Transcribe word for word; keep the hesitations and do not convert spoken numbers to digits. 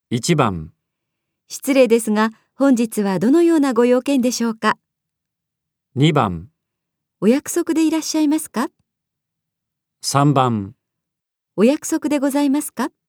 いちばん、 失礼ですが、本日はどのようなご用件でしょうか。 にばん、 お約束でいらっしゃいますか。 さんばん。 お約束でございますか。